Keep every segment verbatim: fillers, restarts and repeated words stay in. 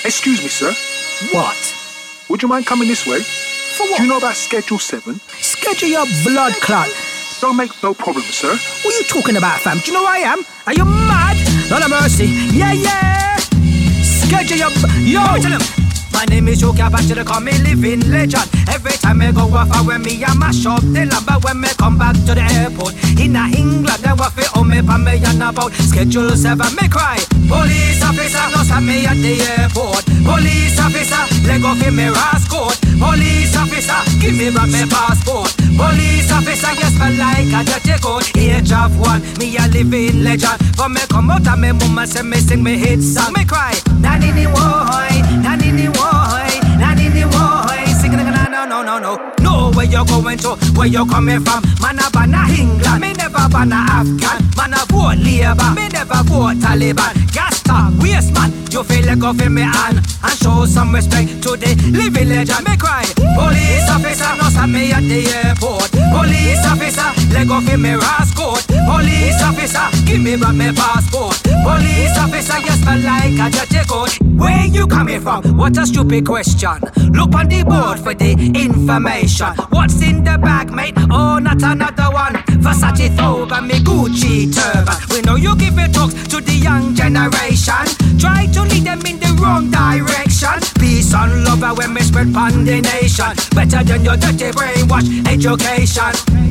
Excuse me, sir. What? Would you mind coming this way? For what? Do you know about Schedule seven? Schedule your blood clot. Don't make no problem, sir. What are you talking about, fam? Do you know who I am? Are you mad? Lord of mercy. Yeah, yeah. Schedule your... B- Yo! Tell him. My name is Joe Cabot, they call me living legend. Every time I go off, I wear me a mash up the land. But when me come back to the airport in a England, they want to own me for me and about Schedule seven, me cry. Police officer, no stop me at the airport. Police officer, let go for me rascal. Police officer, give me back my passport. Police officer, yes, me like a dirty code. Age of one, me a living legend. For me come out and me mama say me sing me hit song. Me cry, nanny ni woy, nanny ni woy. Nanny ni woy, singing no no no no. No, where you going to, where you coming from? Man a ban a England, me never ban a Afghan. Man a vote Labour, me never vote Taliban. Gas stop, waste man, you feel like off in me hand. And show some respect to the living legend. Me cry, police officer, no stop me at the airport. Police officer, let go for me rascal. Police officer, give me back my passport. Police officer, yes, me like a dirty code. Where you coming from? What a stupid question. Look on the board for the information. What's in the bag, mate? Oh, not another one. Versace thobe and me Gucci turban. We know you give it talks to the young generation. Try to lead them in the wrong direction. Peace and love when we spread pon the nation. Better than your dirty brainwash education.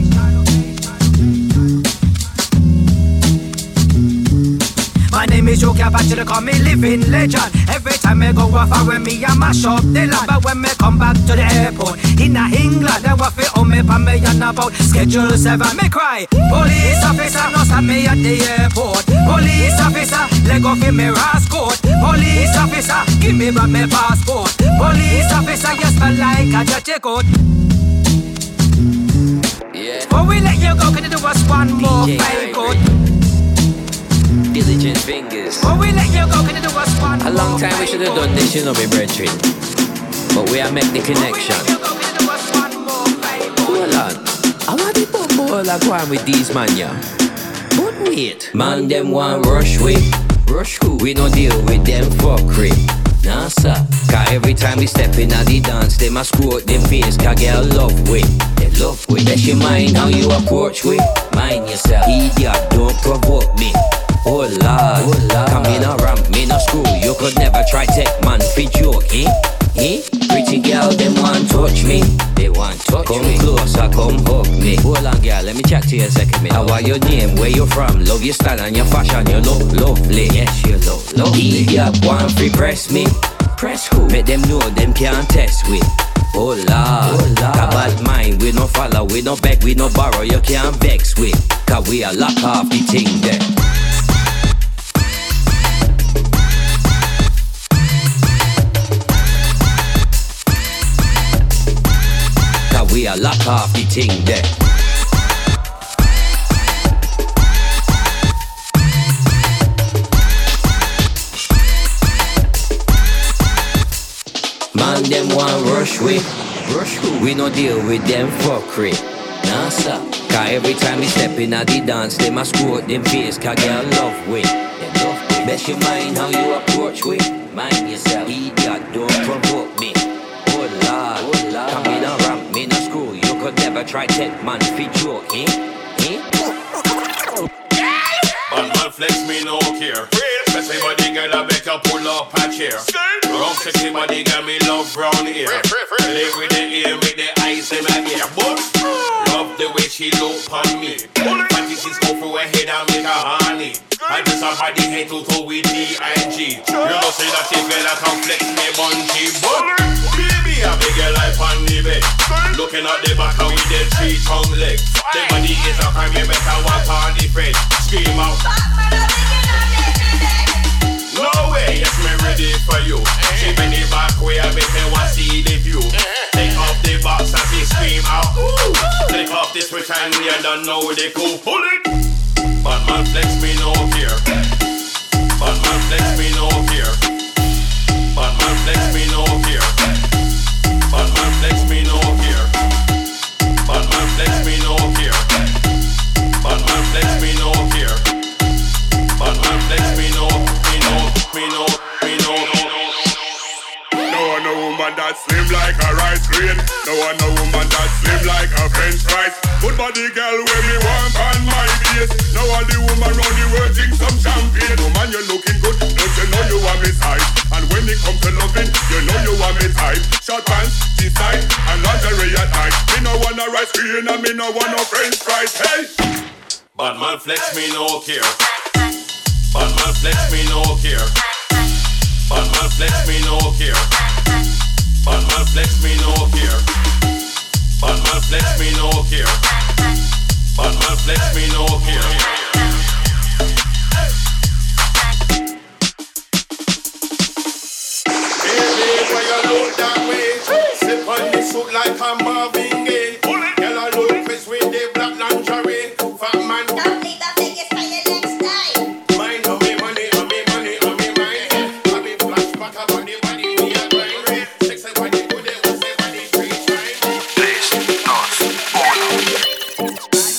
My name is Joe Cabot, they call me living legend. Every time I go off, I wear me a mash up the land. But when me come back to the airport in a England, they want to own me for me and about Schedule seven. Me cry, police officer, no stop me at the airport. Police officer, let go for me rascal. Police officer, give me back my passport. Police officer, yes, me like a dirty code. Yeah. Before we let you go, can you do us one more favor? Diligent fingers. Oh, we let you go, can you do us one A long time we should have done this, you know, me brethren. But we are make the connection. Hold on. I want the bumbo like one with these man, yeah. But wait. Man, them one rush with. Rush who? We no deal with them fuckery. Nah, sir. Cause every time we step in at the dance, they must screw out them face, cause girl love with. They love with. Let your mind how you approach with. Mind yourself. Idiot, don't provoke me. Oh Lord, oh Lord. Come in a ramp, me no screw. You could never try take man fi joke, eh? Eh? Pretty girl, them want touch me. They want touch come me. Come closer, come hug me. Hold on, girl, let me chat to you a second minute. How are your name, where you from? Love your style and your fashion, you look lovely. Yes, you look lovely. Idiot, want free press me. Press who? Make them know them can't test with. Oh Lord, oh Lord. A bad mind, we no follow, we no beg, we no borrow. You can't vex with. Cause we are lock off the thing there. We are lock off the thing there. Man, them want rush with. Rush who? We no deal with them fuckery. Nah, sir. Cause every time we step in at the dance, they must screw out them face, cause girl love with. They love with. Best you mind how you approach with. Mind yourself. Idiot, don't provoke me. Oh Lord, oh Lord. Come in a ramp, me no screw. You could never try take man fi joke, eh? Eh? Bad man flex me no care. Sexy body girl I better pull up a chair. Rough sexy body girl me love brown hair. Live with the ear, with the eyes in my ear. But love the way she look on me. Fantasies go through her head and make her honey. I just a body head to toe with D I G. You know say that she girl I can flex me bunchy. But baby a big girl like on the bed. Looking at the back with the three tongue legs. The body is a crime, you better walk on the bed. Scream out. No way, yes, me ready for you. She bend the back way, I make me want to see the view. Take off the box and she scream out. Ooh. Take off the switch and we don't know they cool. Pull it. Bad man flex me no fear. Bad man flex me no fear. Bad man flex me no fear. Bad man flex me no fear. Bad man flex me no fear. Bad man flex me. clean. No one no woman that slim like a French fries. Good body girl when me want on my base. Now all the woman round the world drink some champagne. Oh man, you looking good, don't you know you are me type? And when it comes to loving, you know you are me type. Short pants, G-side, and lingerie at night. Me no wanna rice cream and me no want no French fries. Hey! Bad man flex me no care. Bad man flex me no care. Bad man flex me no care. Bad man flex me no care. Bad man flex me no care. Bad man flex me no care. Baby, when you look that way, slip on the suit like a Marvin Gaye. Girl, I look fresh with the black lingerie. Fat man, don't leave that biggest by your next time. mind on me money, on me money, on me mind. I be flashback up on the body, me a grind. Sexy body, good, it was a body, free time. Tres, dos, uno.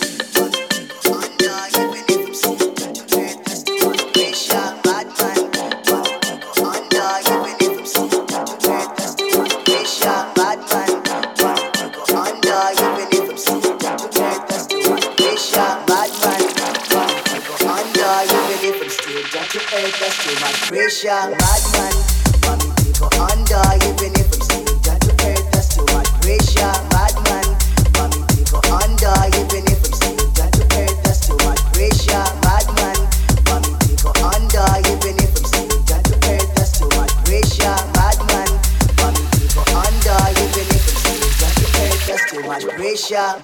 That's too much pressure, bad man. Mommy, people under, even if I'm still got to earth. That's too much pressure, bad man. Mommy, people under, even if I'm still got to earth. That's too much pressure, bad man. Mommy, people under, even if I'm still got to earth. That's too much pressure, bad man. Mommy, people under, even if I'm still got to earth. That's too much pressure.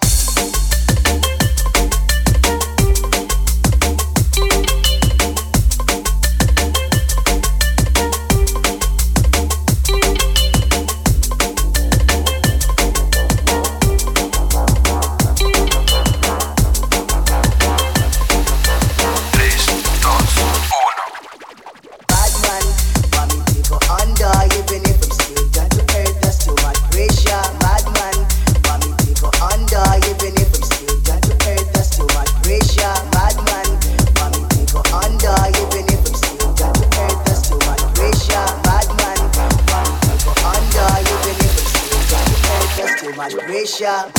Pressure.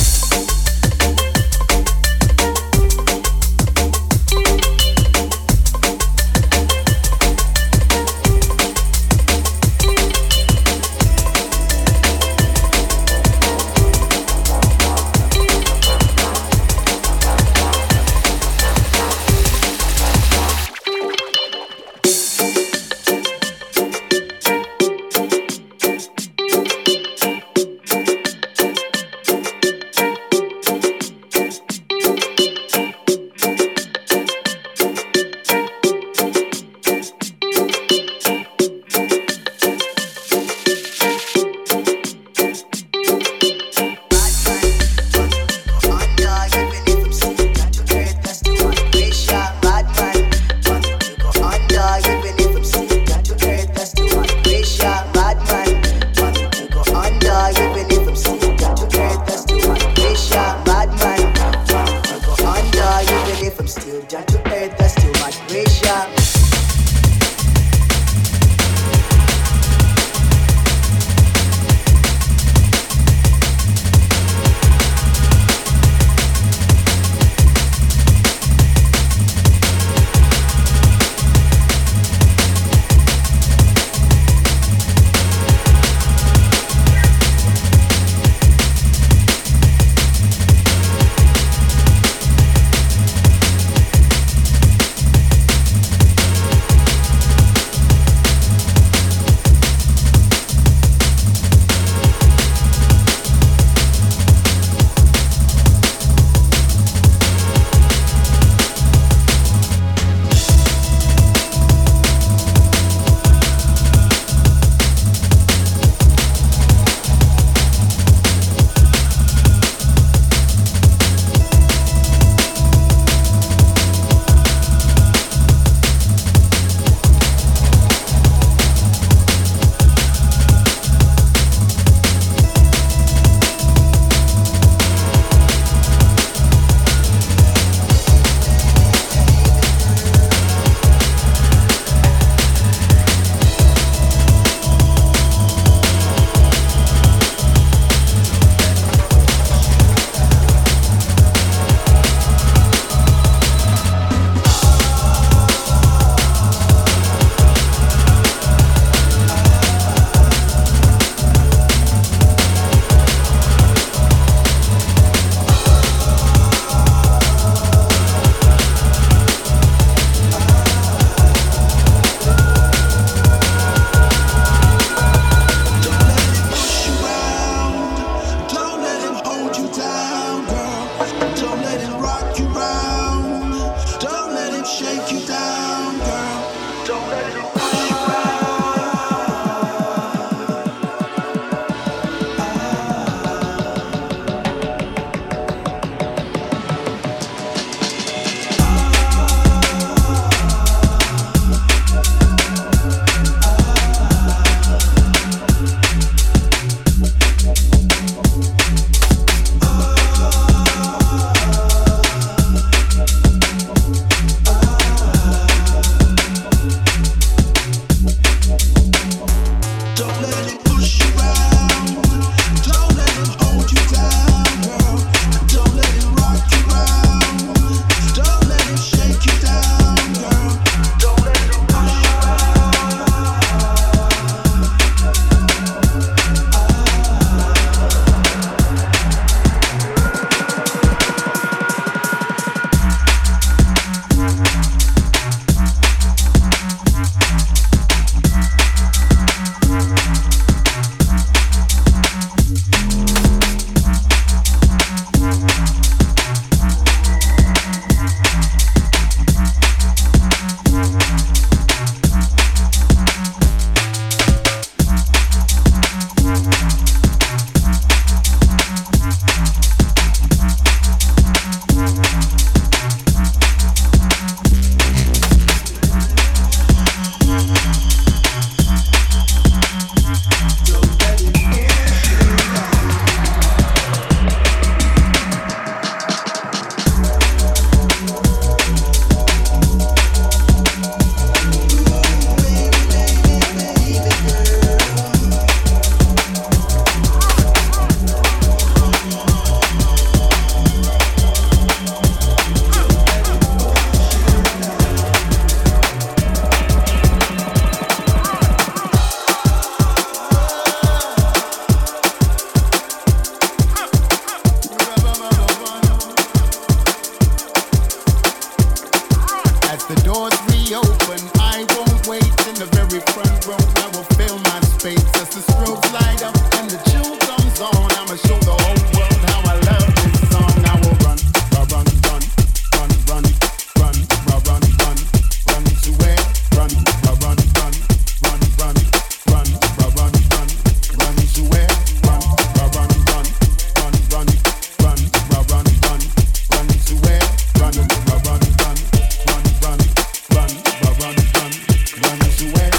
The doors reopen, I won't wait in the very front row. I will fill my space as the strobes light up and the tune comes on. I'ma show the whole world how I love this song. I will run, run, run, run, run, run, run, run, run, run, run to where? Run, run, run, run, run, run, run, run, run, run, run to where? Run, run, run, run, run, run, run, run, run, run, run to where? Run, run, run, run, run, run, run, run, run, run, run to where?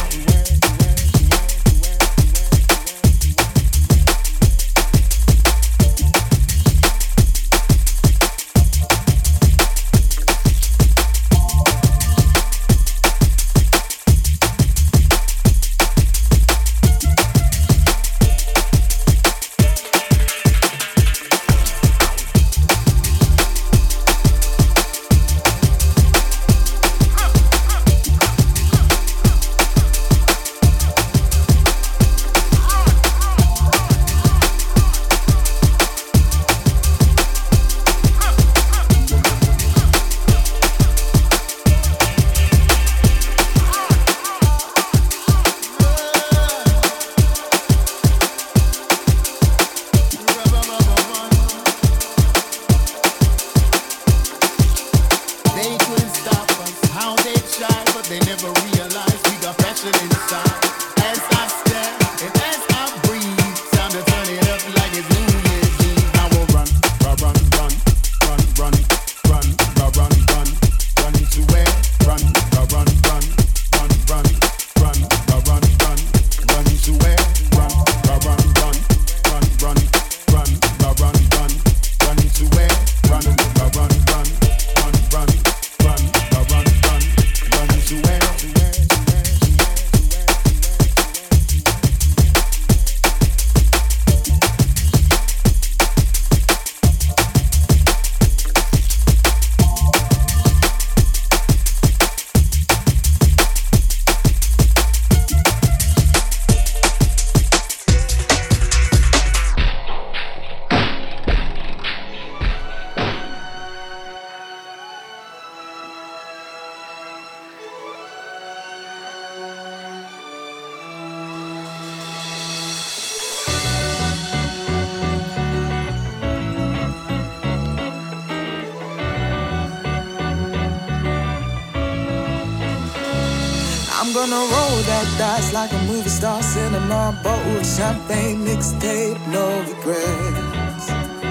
I'm gonna roll that dice like a movie star, cinema, bottled champagne, mixtape, no regrets.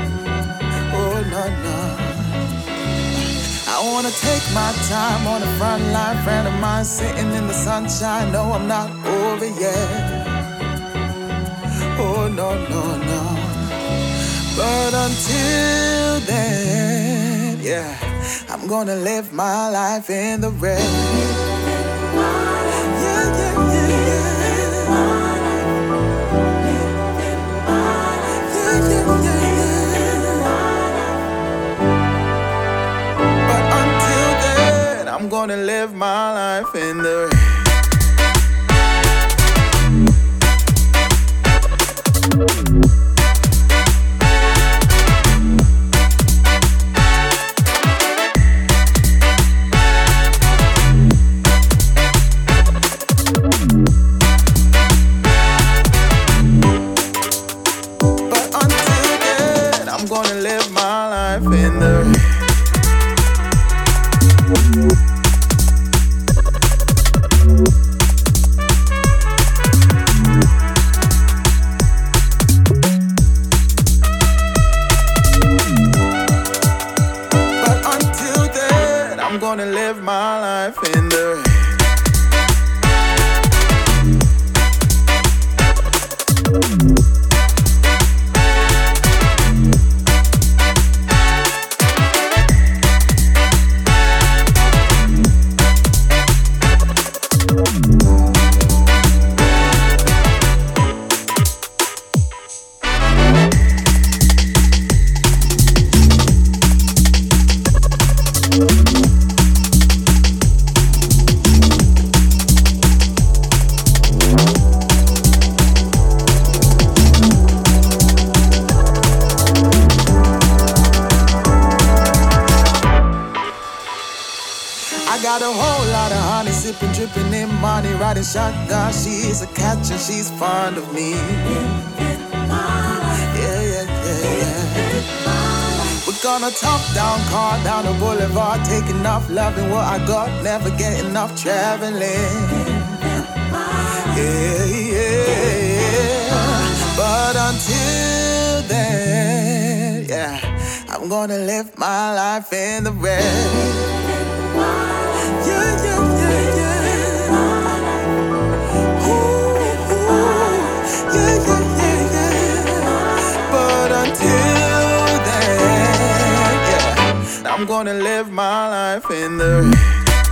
Oh no no. I wanna take my time on the front line, friend of mine sitting in the sunshine. No, I'm not over yet. Oh no no no. But until then, yeah, I'm gonna live my life in the red. I'm gonna live my life in the rain. But until then, I'm gonna live my life in the rain. Gonna live my life in the rain. I got a whole lot of honey, sipping, dripping in money, riding shotgun. She's a catch and she's fond of me. Yeah, yeah, yeah, yeah. We're gonna top down, car down the boulevard, take enough loving what I got, never get enough traveling. Yeah, yeah. But until then, yeah, I'm gonna live my life in the red. Yeah, yeah, yeah, yeah. Ooh, ooh. Yeah, yeah, yeah, yeah. But until then, yeah, I'm gonna live my life in the red.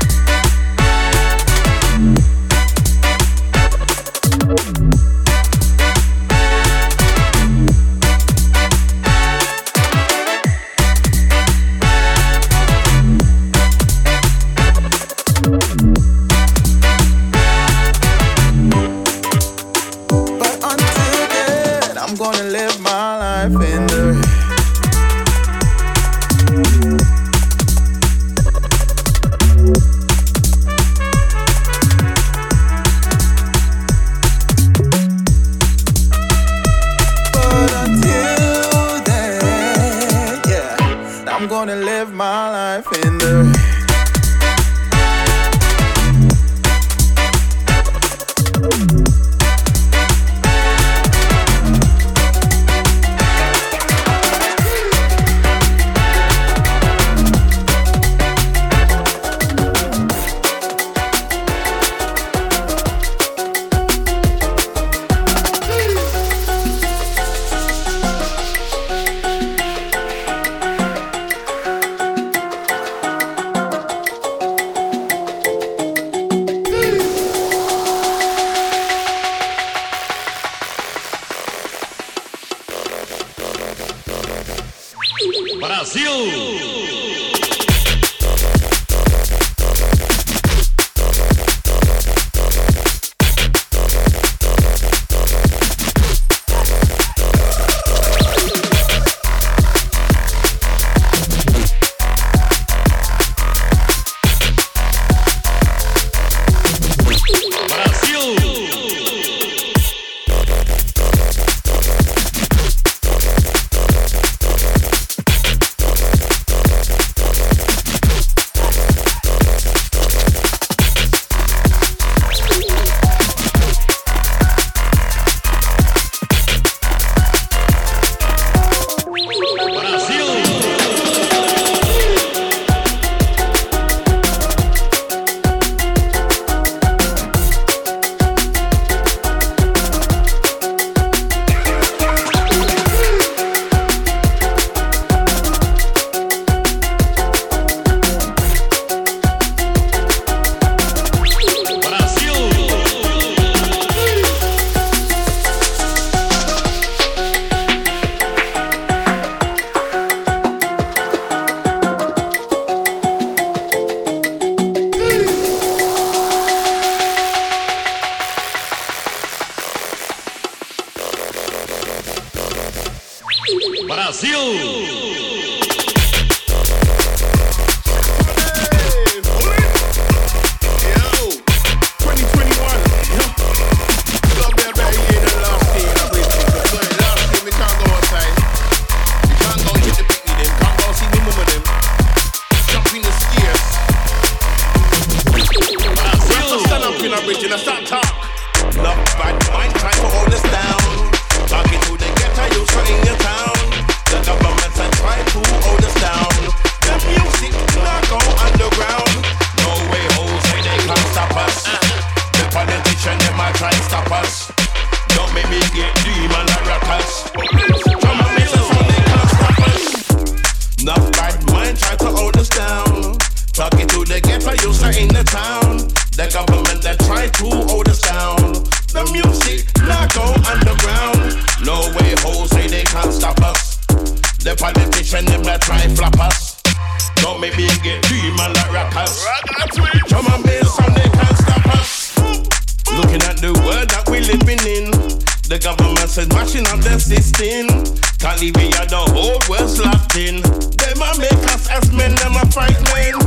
Can't leave me at the whole world's locked in. Them a make us as men, them a frightening.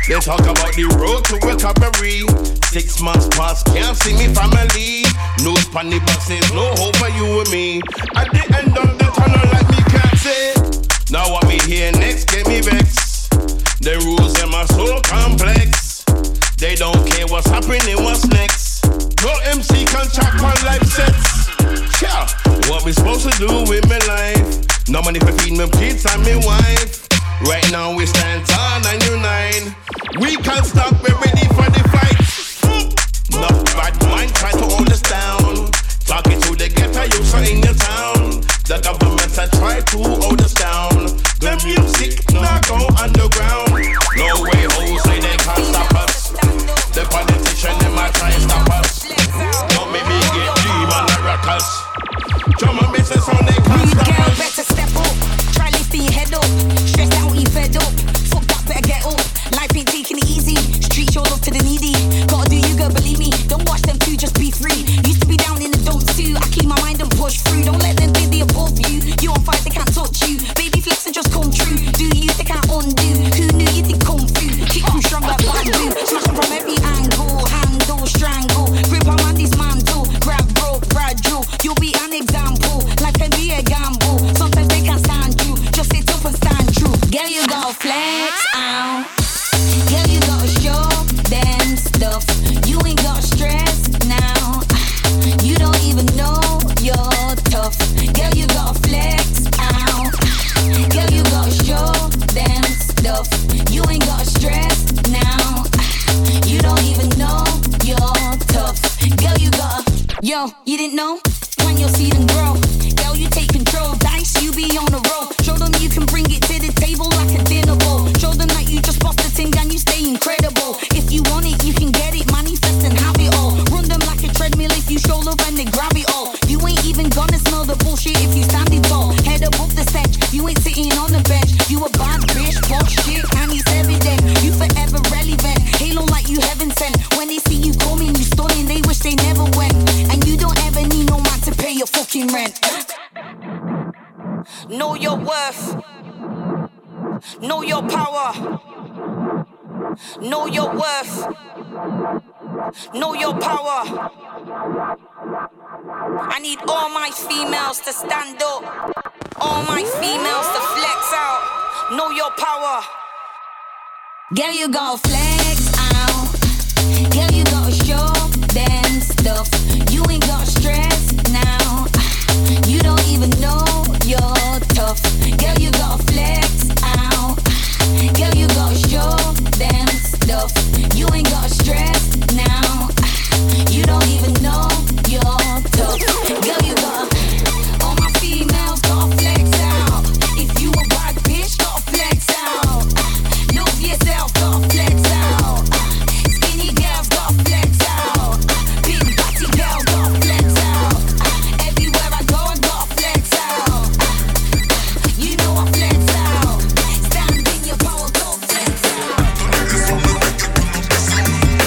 They talk about the road to recovery. Six months past, can't see me family. No spanny buses, no hope for you and me. At the end of the tunnel, like me can't say. Now what me hear next, get me vexed. The rules in my soul complex. They don't care what's happening, what's next. No M C can chat on life sets. Yeah, what we supposed to do with my life? No money for feeding my kids and my wife. Right now we stand tall and unite. We can't stop, we're ready for the fight. No bad mind try to hold us down. Talking to the ghetto youths in your town. The government has tried to hold us down. The music now go underground. No way, hoes say they can't stop us. The politician in my try and stop us. Don't make me get dream on the rockers. Drum and business on they can't stop us. Girl, better step up. Try lifting your head up. Stressed out, you fed up. Fuck that, better get up. Life ain't taking it easy. Street show love to the needy. Gotta do you, girl, believe me. Don't watch them two, just be free. Used to be down in the dumps too. I keep my mind and push through. Don't let them think they above you. You on fire, they can't touch you. Baby flex and just come true. Do you, they can't undo. Who knew you think come through? Kick you strong like bamboo. Smash them from every angle. Handle, strangle. Grip on my dismantle. Grab rope, fragile. You'll be an example. Life can be a gamble. Sometimes they can't stand you. Just sit up and stand true. Girl, you gotta flex out. Girl, you gotta show them stuff. You ain't got stress now. You don't even know you're tough. Girl, you gotta flex out. Girl, you gotta show them stuff. You ain't got stress now. You don't even know you're tough. Girl, you gotta. Yo, you didn't know? Plant your seed and grow. Girl, you take control. Dice, you be on the roll. Show them you can bring it to the table like a dinner bowl. Show them that you just bust the thing and you stay incredible. If you want it, you can get it. Manifest and have it all. Run them like a treadmill if you show love and they grab it all. You ain't even gonna smell the bullshit if you standing tall. Head above the sedge. You ain't sitting on the bench. You a bad bitch, fuck shit, and it's evident. You forever relevant. Halo like you heaven sent. When they see you coming, you stunning. They wish they never went. And you don't ever need no man to pay your fucking rent. Know your worth. Know your power. Know your worth. Know your power. I need all my females to stand up. All my females to flex out. Know your power. Girl, you gotta flex out. Girl, you gotta show them stuff. You ain't got stress now. You don't even know you're tough. Girl, you gotta flex out. Girl, you gotta show them stuff. You ain't got stress now. You don't even know you're tough. Girl, you gotta. All my females gotta flex out. If you a bad bitch, gotta flex out. Love yourself, gotta flex out. Skinny girls gotta flex out. Big body girl gotta flex out. Everywhere I go, I gotta flex out. You know I flex out. Stand in your power, go flex out.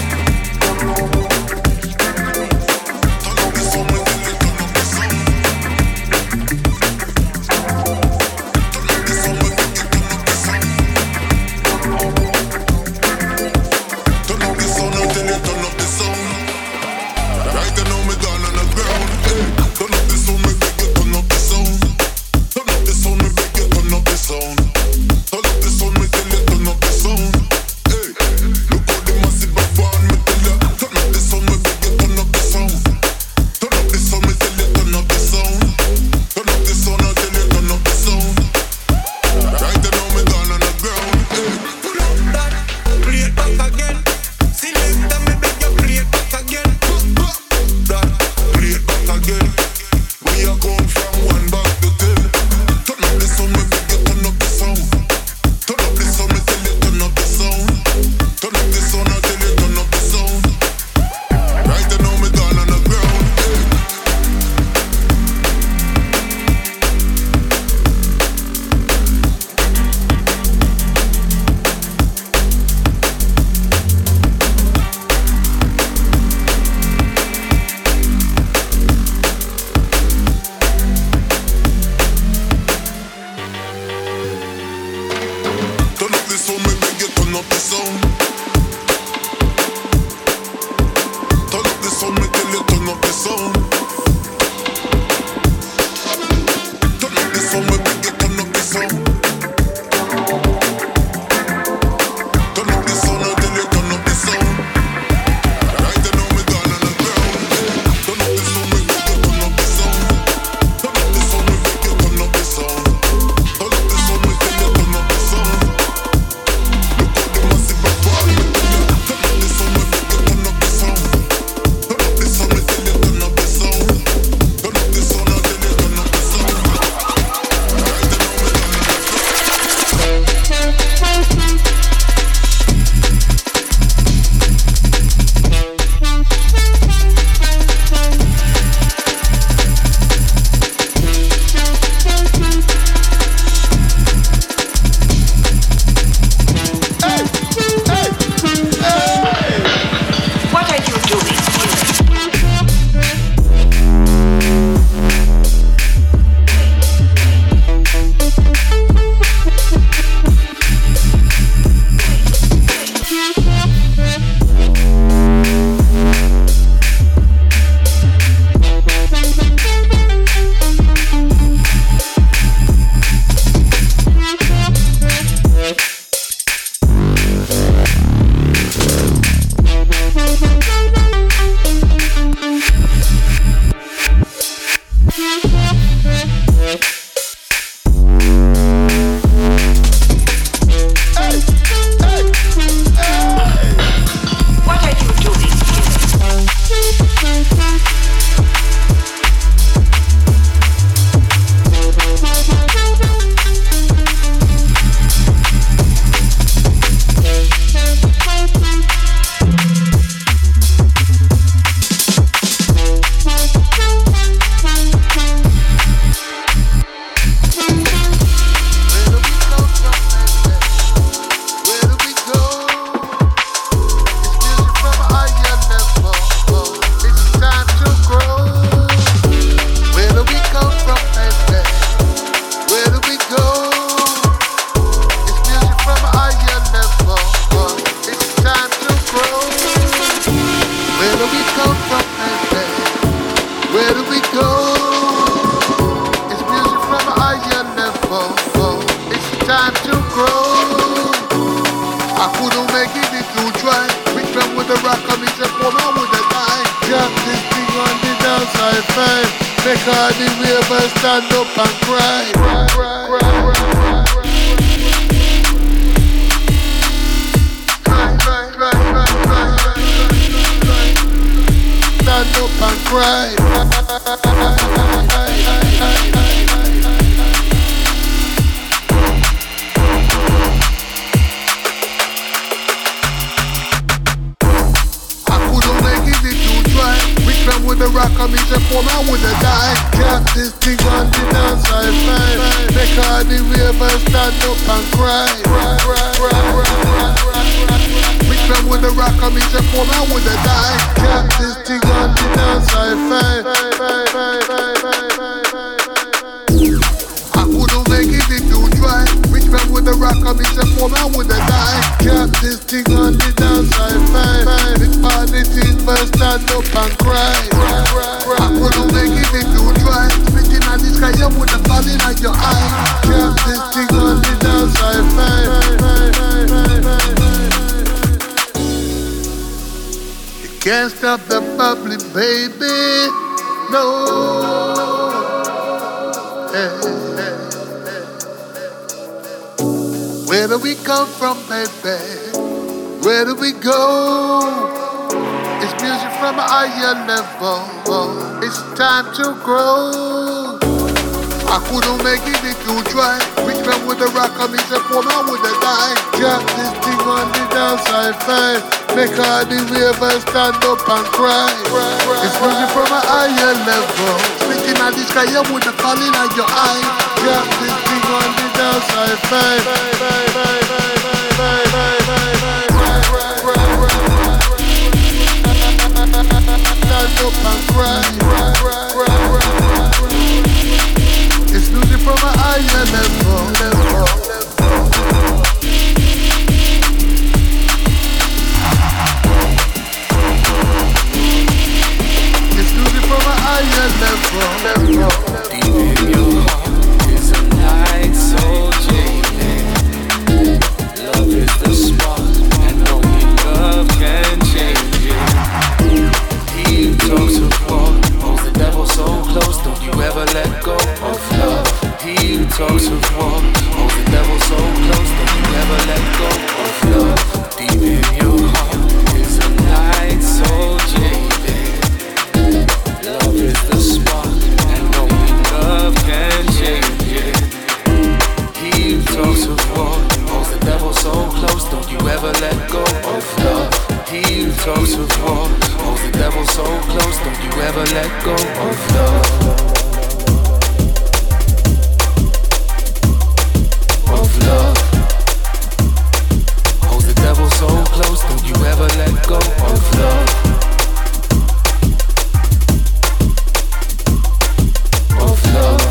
the rock and me say, for me with the die. Drop this thing on the downside fine. Make all the ravers stand up and cry. Cry, cry, cry, cry, cry. Stand up and cry. I couldn't make it if you try. Which one with the rock and me say for me I woulda die. Drop this thing on the downside fine. Make all the ravers stand up and cry. Cry, cry, cry, cry, cry, cry. Which one with the rock and me say for me I woulda die. Drop this thing on the downside fine. I couldn't make it if you try. Which one with the rock and me say for me I woulda die. Drop this thing on the downside fine. Big party thing first stand up and cry. I couldn't make it if you try. Speaking of this guy you woulda fall in at your eye. Drop this thing on the downside fine. Can't stop the bubbling, baby. No. Hey, hey, hey. Where do we come from, baby? Where do we go? It's music from a higher level. It's time to grow. I couldn't make it if you try. Which one with the rock and me say for me I woulda die. Drop this thing on the downside fine. Make all the ravers stand up and cry. It's music from a higher level. Speaking of the sky, you woulda fall in at your eye. Drop this thing on the downside fine. Stand up and cry. It's music from a higher level. It's music from a higher level. Deep in your heart is a night so jaded. Love is the spark, and only love can change it. He talks of war, holds the devil so close, don't you ever let go of love. He talks of war, holds the devil so close, don't you ever let go of love. Deep in your heart is a night so jaded. Love is the spark, and only love can change it. He talks of war, holds the devil so close, don't you ever let go of love. He talks of war, holds the devil so close, don't you ever let go of love. Of love. Holds the devil so close, don't you ever let go of love. Of love.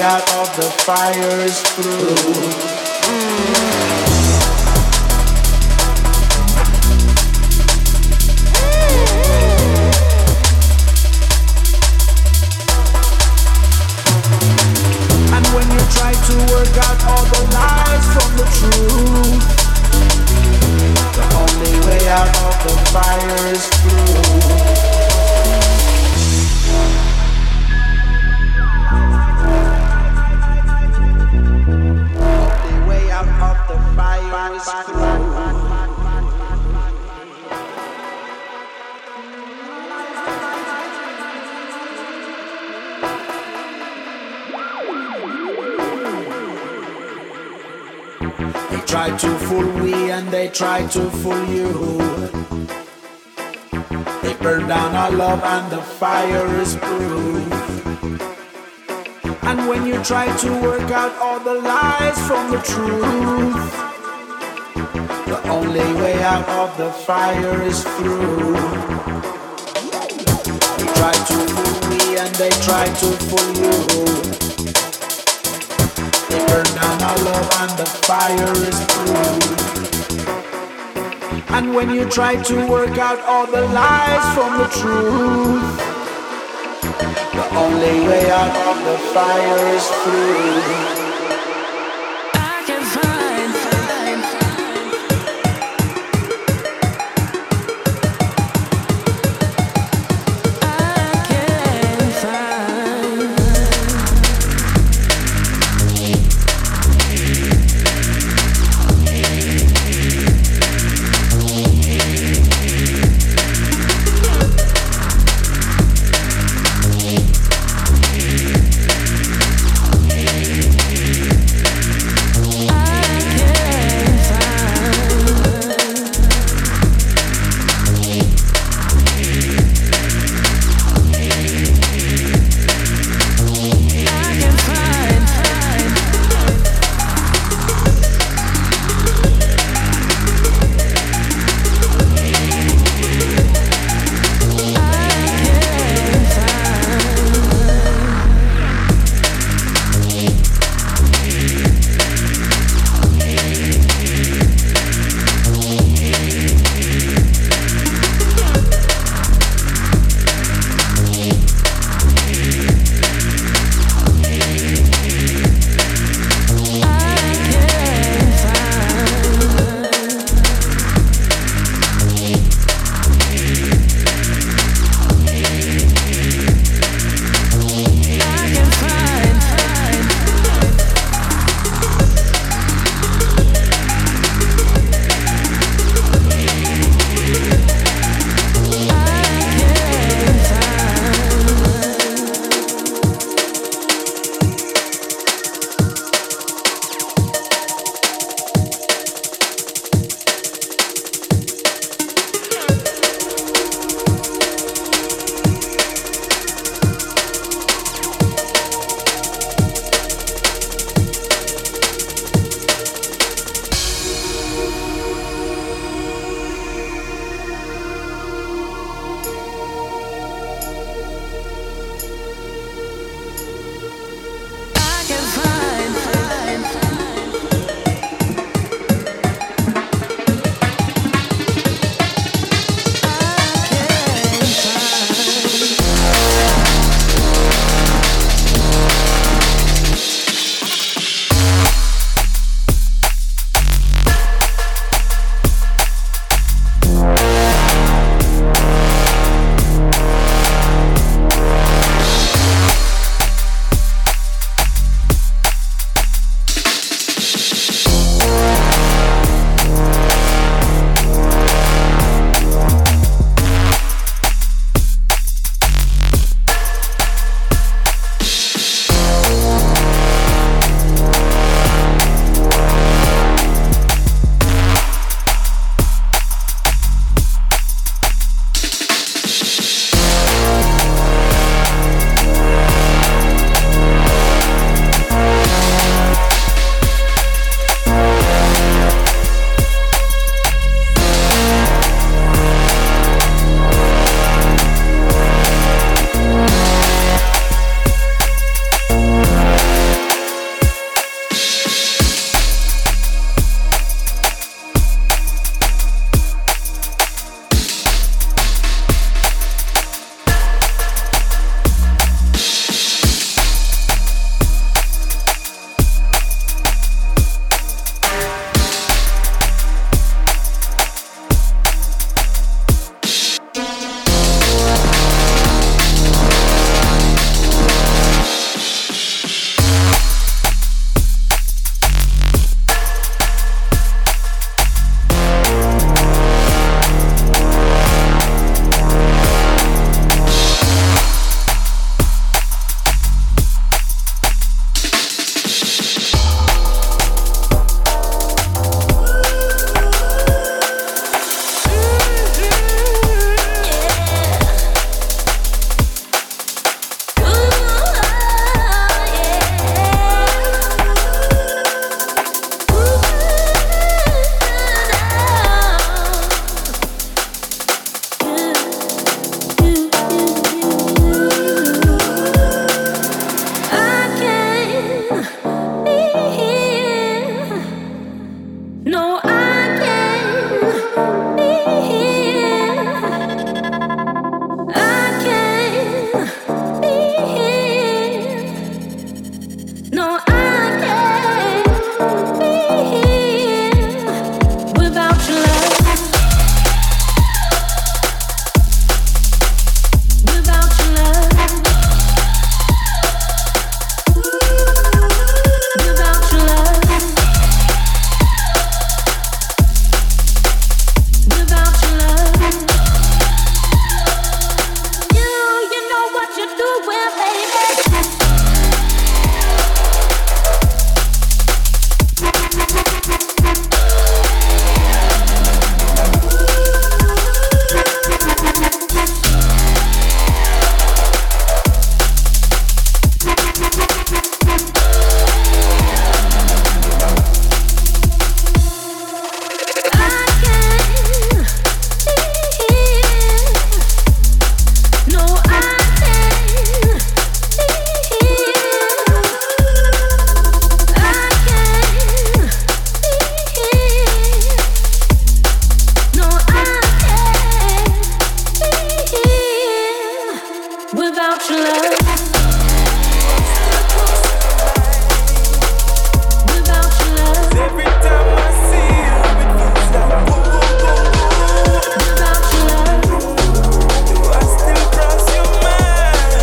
out of the fire is through. And when you try to work out all the lies from the truth, the only way out of the fire is through. they try to fool we and they try to fool you. They burn down our love and the fire is proof. And when you try to work out all the lies from the truth, the only way out of the fire is through. They try to fool me and they try to fool you. They burn down our love and the fire is through. And when you try to work out all the lies from the truth, the only way out of the fire is through. without your love. Without your love. Every time I see you, it feels like whoa, whoa, whoa, whoa. Without your love, do I still cross your mind?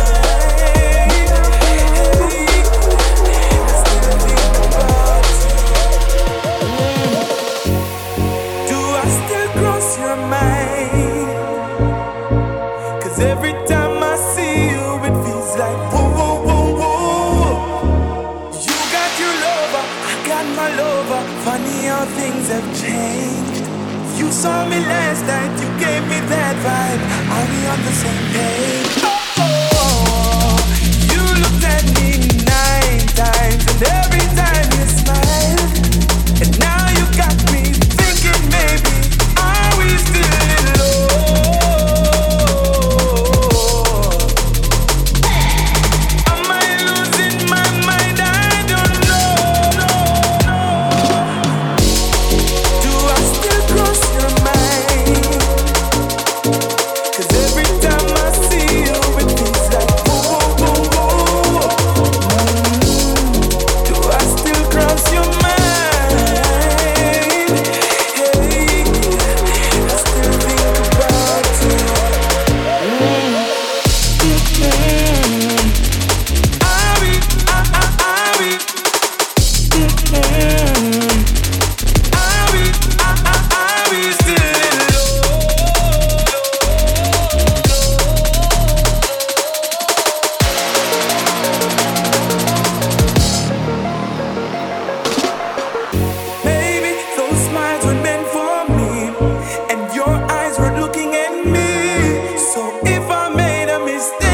I still think about you. Do I still cross your mind? 'Cause every time I see you, it feels like whoa, whoa, whoa, whoa. You got your lover, I got my lover. Funny how things have changed. You saw me last night, you gave me that vibe. Are we on the same page? Oh, oh, oh. You looked at me nine times, and every time you smiled. And now you got me thinking, maybe are we still in love? Am I losing my mind? I don't know. Do I still cross your mind? 'Cause every time I see you, it feels like whoa, whoa, whoa, whoa. Do I still cross your mind? Hey, I still think about you. Mm. Are we, are, are, are we? Mm-mm. Are we, are, are, are we still in Maybe those smiles were meant for me, and your eyes were looking at me. So if I made a mistake,